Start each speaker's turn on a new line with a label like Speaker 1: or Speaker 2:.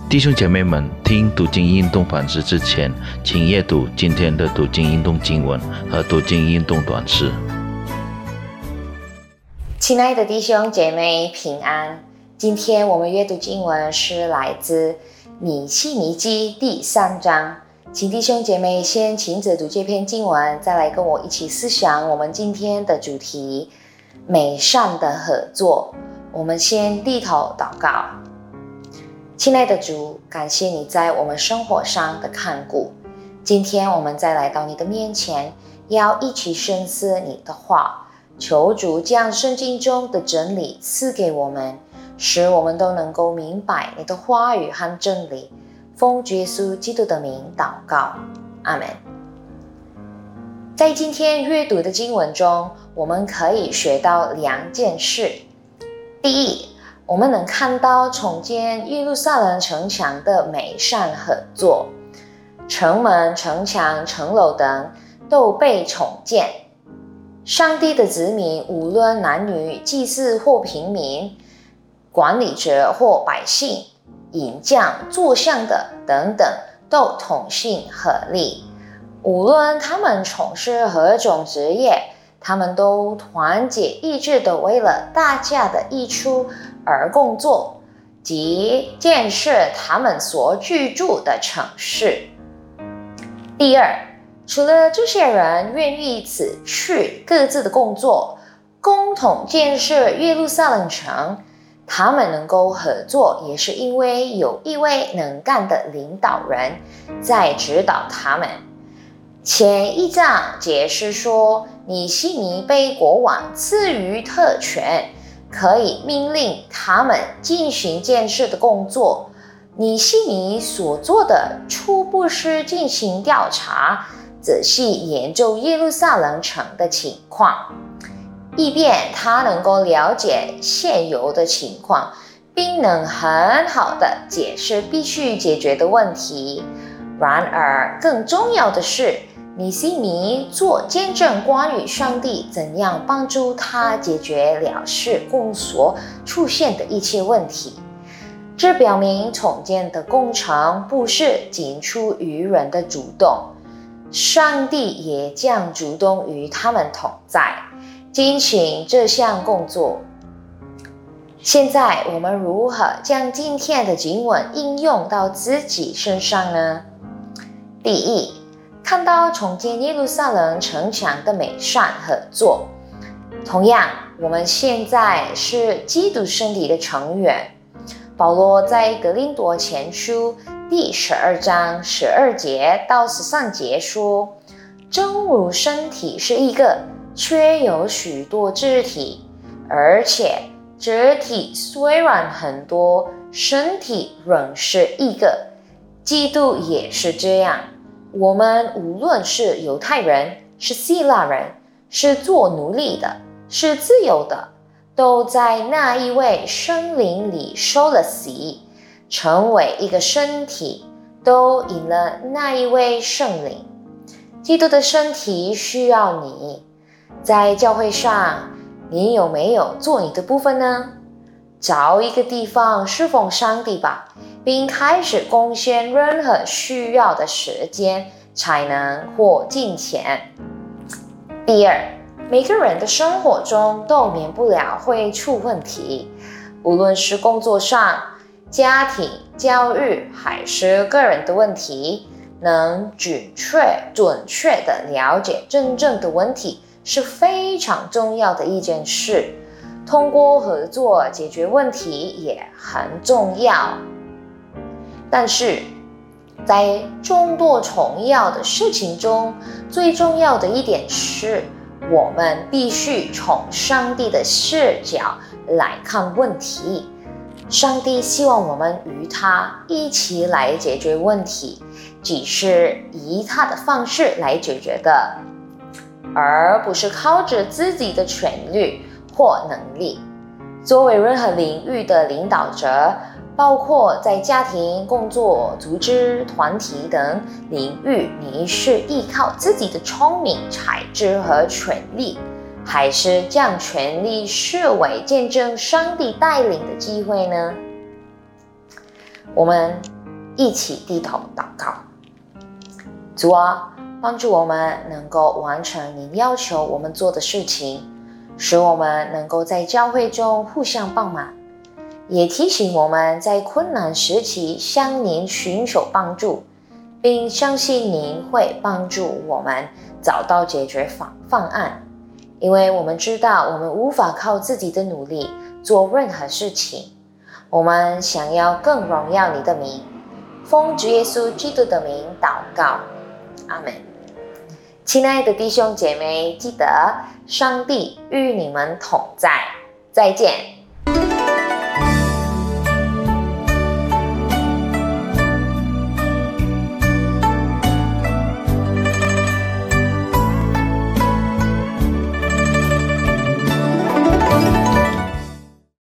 Speaker 1: 弟兄姐妹们，听读经运动反思之前，请阅读今天的读经运动经文和读经运动短诗。
Speaker 2: 亲爱的弟兄姐妹平安，今天我们阅读经文是来自米希尼记第3章，请弟兄姐妹先亲自读这篇经文，再来跟我一起思想我们今天的主题美善的合作。我们先低头祷告。亲爱的主，感谢你在我们生活上的看顾，今天我们再来到你的面前，要一起深思你的话，求主将圣经中的真理赐给我们，使我们都能够明白你的话语和真理。奉主耶稣基督的名祷告，阿们。在今天阅读的经文中，我们可以学到2件事。第一，我们能看到重建耶路撒冷城墙的美善合作，城门、城墙、城楼等都被重建。上帝的子民，无论男女、祭司或平民、管理者或百姓、银匠、作像的等等，都同心合力。无论他们从事何种职业，他们都团结一致地为了大家的益处而工作，即建设他们所居住的城市。第二，除了这些人愿意辞去各自的工作，共同建设耶路撒冷城，他们能够合作，也是因为有一位能干的领导人在指导他们。前一章解释说，米希尼被国王赐予特权，可以命令他们进行建设的工作。米希尼所做的初步是进行调查，仔细研究耶路撒冷城的情况，以便他能够了解现有的情况，并能很好地解释必须解决的问题。然而，更重要的是，米希尼做见证关于上帝怎样帮助他解决了事工所出现的一切问题。这表明重建的工程不是仅出于人的主动，上帝也将主动与他们同在，进行这项工作。现在我们如何将今天的经文应用到自己身上呢？第一，看到重建耶路撒冷城墙的美善合作。同样，我们现在是基督身体的成员。保罗在格林多前书第12章12节到13节说，正如身体是一个，却有许多肢体，而且肢体虽然很多，身体仍是一个。基督也是这样。我们无论是犹太人，是希腊人，是做奴隶的，是自由的，都在那一位圣灵里受了洗，成为一个身体，都因了那一位圣灵。基督的身体需要你。在教会上，你有没有做你的部分呢？找一个地方侍奉上帝吧，并开始贡献任何需要的时间、才能或金钱。第二，每个人的生活中都免不了会出问题，无论是工作上、家庭、教育还是个人的问题，能准确地了解真正的问题是非常重要的一件事。通过合作解决问题也很重要。但是在众多重要的事情中，最重要的一点是，我们必须从上帝的视角来看问题。上帝希望我们与他一起来解决问题，只是以他的方式来解决的，而不是靠着自己的权力或能力。作为任何领域的领导者，包括在家庭、工作、组织、团体等领域，你是依靠自己的聪明、才智和权力，还是将权力视为见证上帝带领的机会呢？我们一起低头祷告。主啊，帮助我们能够完成你要求我们做的事情，使我们能够在教会中互相帮忙，也提醒我们在困难时期向您寻求帮助，并相信您会帮助我们找到解决方案，因为我们知道我们无法靠自己的努力做任何事情。我们想要更荣耀你的名，奉主耶稣基督的名祷告，阿们。亲爱的弟兄姐妹，记得上帝与你们同在，再见。